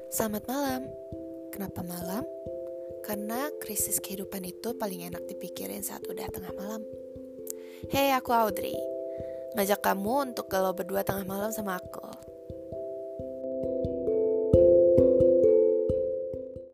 Selamat malam. Kenapa malam? Karena krisis kehidupan itu paling enak dipikirin saat udah tengah malam. Hey, aku Audrey. Ngajak kamu untuk galau berdua tengah malam sama aku.